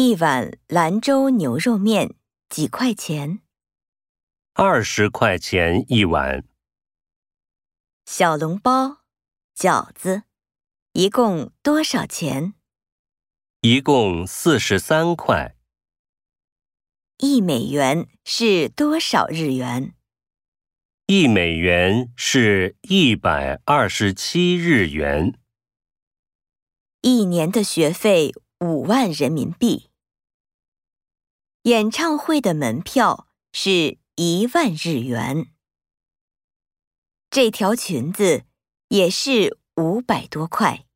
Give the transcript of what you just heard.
一碗兰州牛肉面几块钱 ？20块钱一碗。 小笼包、饺子，一共多少钱？ 一共43块。 1美元是多少日元 1美元是127日元。 ？1年的学费5万人民币。演唱会的门票是1万日元。这条裙子也是500多块。